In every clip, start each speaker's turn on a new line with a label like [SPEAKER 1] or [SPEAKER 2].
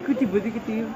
[SPEAKER 1] Kecil-kecil gitu.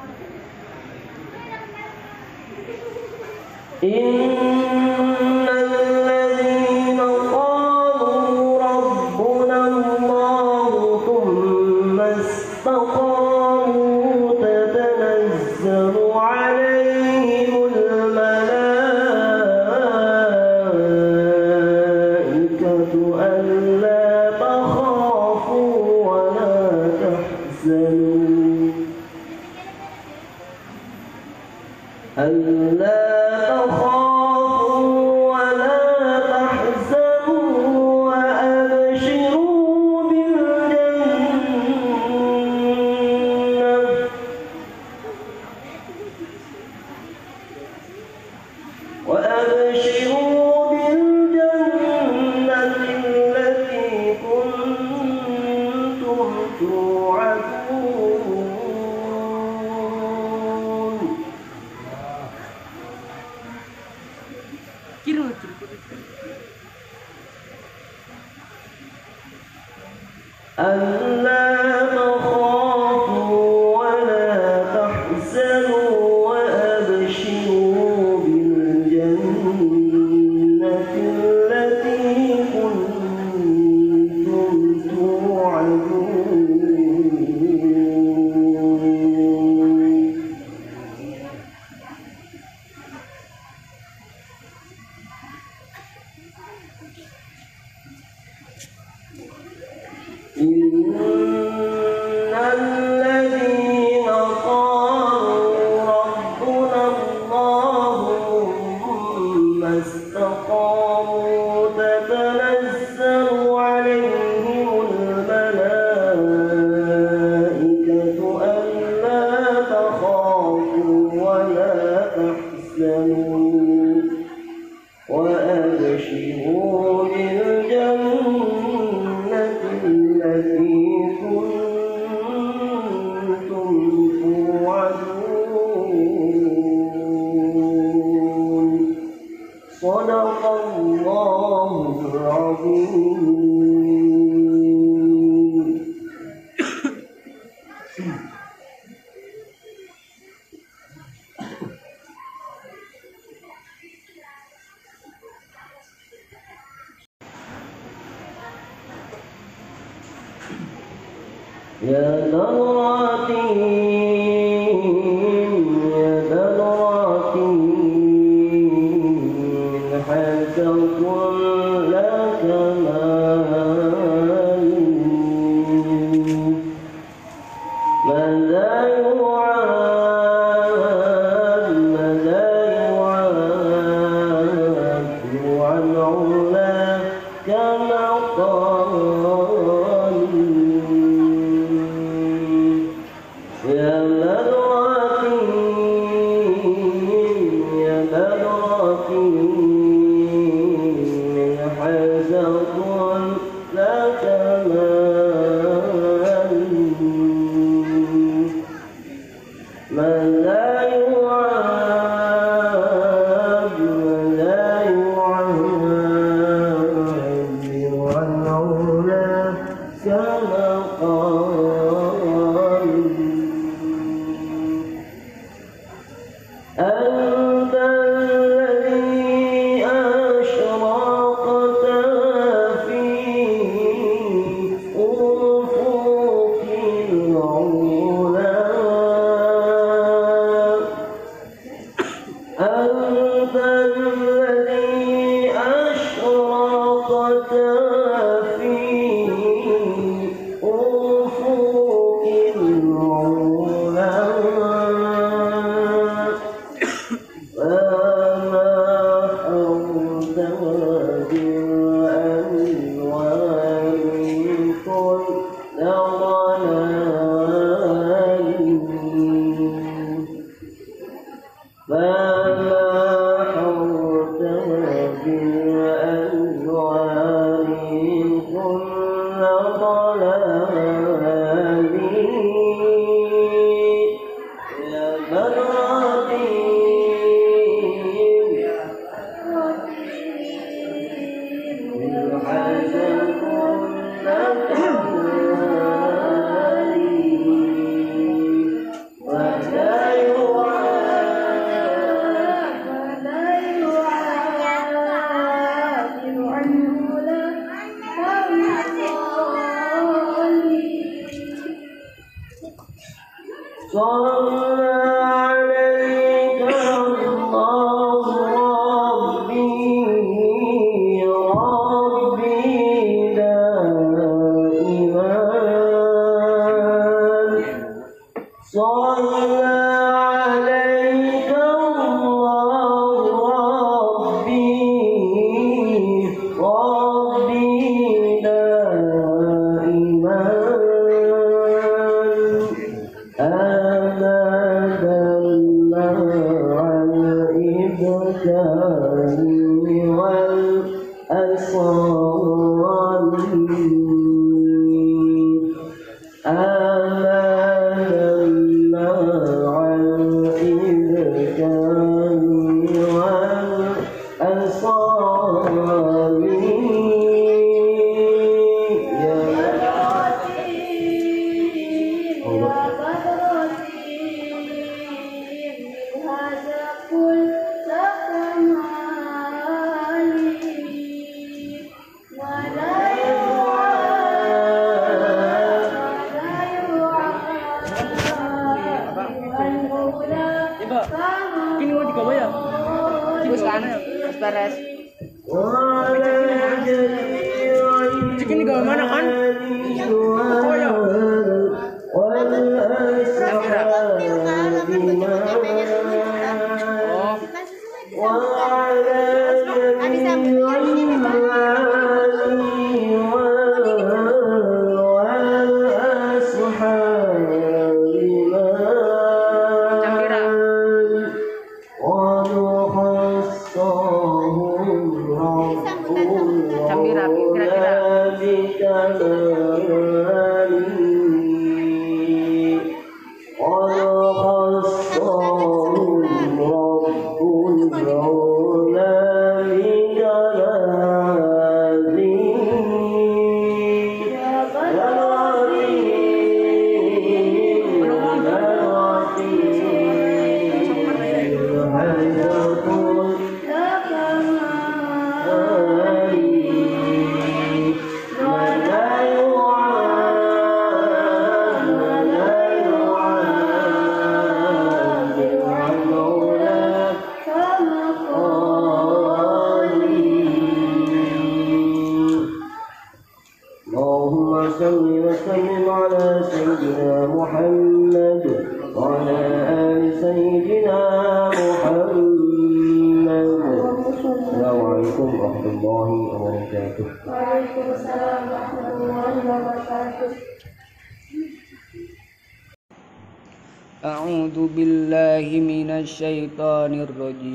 [SPEAKER 1] A'udzu billahi minasy syaithanir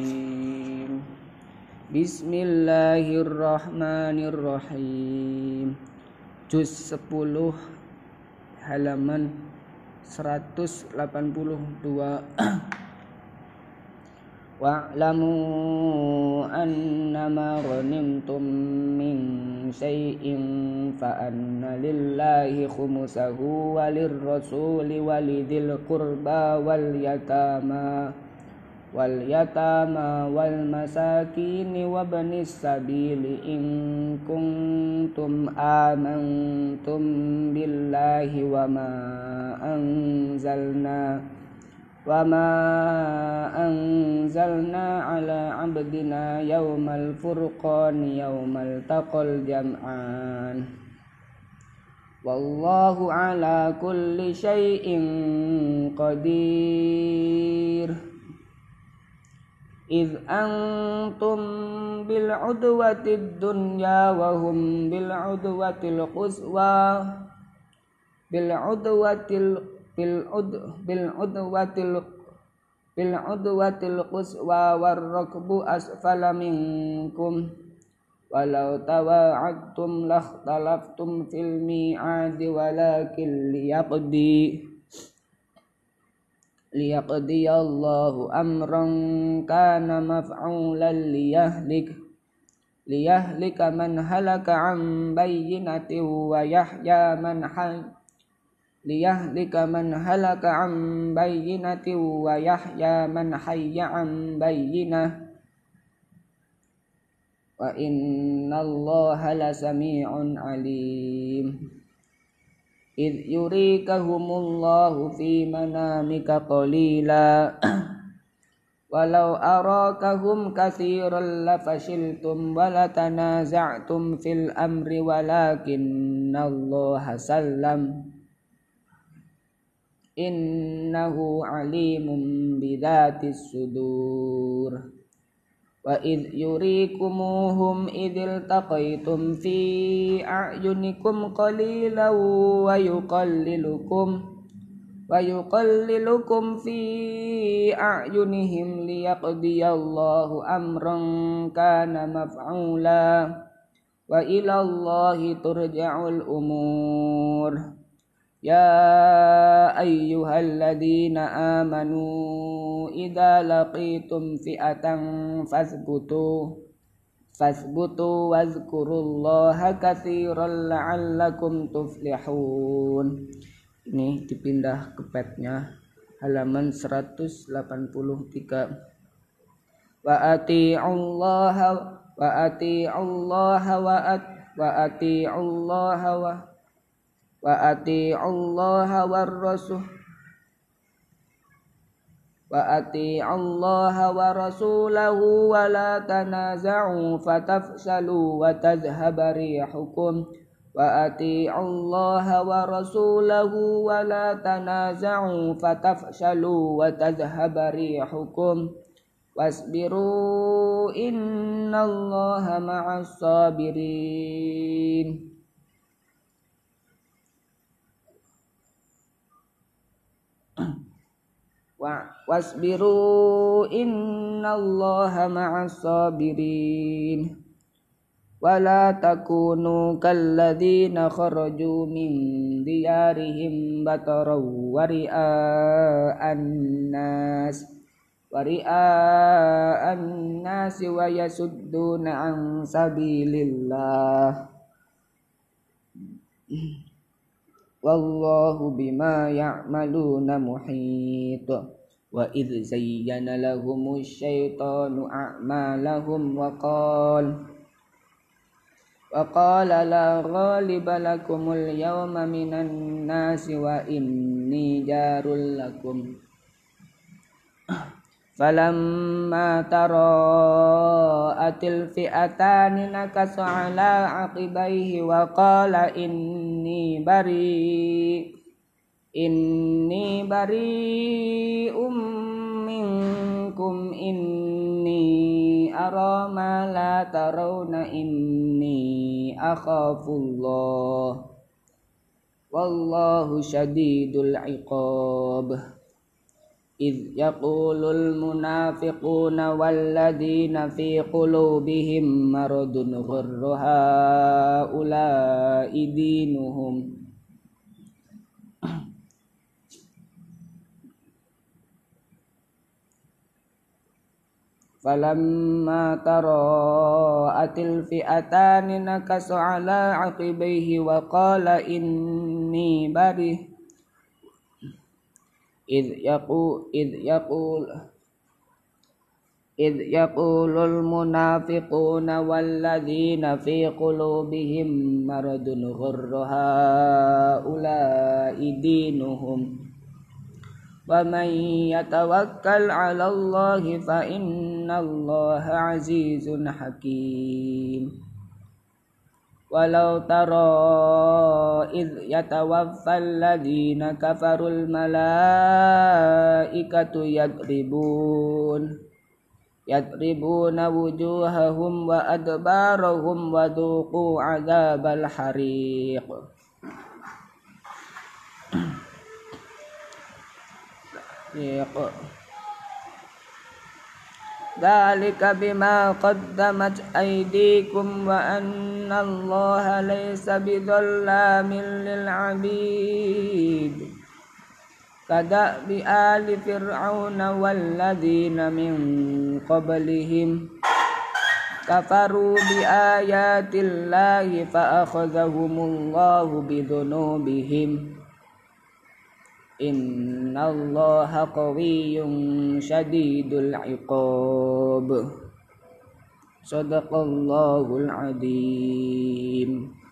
[SPEAKER 1] rajim. Bismillahirrahmanirrahim. Juz 10 halaman 182. Wa'lamu annama ghanimtum min syai'in fa anna lillahi khumsahu walirrasuli walidil qurba wal yatama wal masakin wabnis sabili in kuntum amantum billahi wa ma anzalna ala abdina yawmal furqani yawmal taqal jam'an wallahu ala kulli syai'in qadir. Idh antum bil udwatid dunya wa hum bil udwatil quswa bil udwatil quswa war rakbu asfala minkum walau tawa'adtum lakhtalaftum fil mi'adi walakin liyaqdiyallahu amran kana maf'ulan liyahlika man halaka an bayyinatin wa yahya man hayya an bayyinah wa innallaha lasami'un alim. إذ يريكهم الله في منامك قليلا ولو أراكهم كثيرا لفشلتم ولتنازعتم في الأمر ولكن الله سلم إنه عليم بذات الصدور وإذ يريكموهم إذ التقيتم في أعينكم قليلا ويقللكم في أعينهم ليقضي الله أمرا كان مفعولا وإلى الله ترجع الأمور يا أيها الذين آمنوا إذا لقيتم فئة فاثبتوا واذكروا الله كثيرا لعلكم تفلحون. Ini dipindah ke petnya halaman 183. Wa ati'ullaha wa rasulahu wa la tanaza'u fatafshalu wa tadhhaba rihukum wa ati'ullaha wa rasulahu wa la tanaza'u fatafshalu wa tadhhaba rihukum wasbiru innallaha ma'as sabirin. Wasbiru innallaha ma'as sabirin wala takunu kalladzina kharaju min diyarihim bataran wa ri'a'an nas wa yasudduna an sabilillah wallahu bima ya'maluna muhit. Wa idh zayyana lahumus syaitanu a'malahum wa qala la ghaliba lakumul yawma minan nasi wa inni jarul lakum falamma tara'atil fi'atani nakasa ala aqibaihi wa qala inni bari'um minkum inni ara ma la tarawna inni akhafullah wallahu syadidul iqab. إذ يقول المنافقون والذين في قلوبهم مرض غر هؤلاء دينهم فلما تراءت الفئتان نكص على عقبيه وقال إني بريء إذ يقول المنافقون والذين في قلوبهم مرض غر هؤلاء دينهم ومن يتوكل على الله فإن الله عزيز حكيم. Walau tara idh yatawaffal ladhina kafarul malaikatu yadribuna wujuhahum wa adbarahum wa dhuqu adzabal hariq. Dzalika bima qaddamat aydikum wa anna Allaha laysa bidzallamin lil 'abid. Kadabi ali fir'auna walladzina min qablihim kafaru bi ayatillahi fa akhadhahumullahu bidhunubihim. Innallaha qawiyyun syadidul iqab. Shadaqallahul adzim.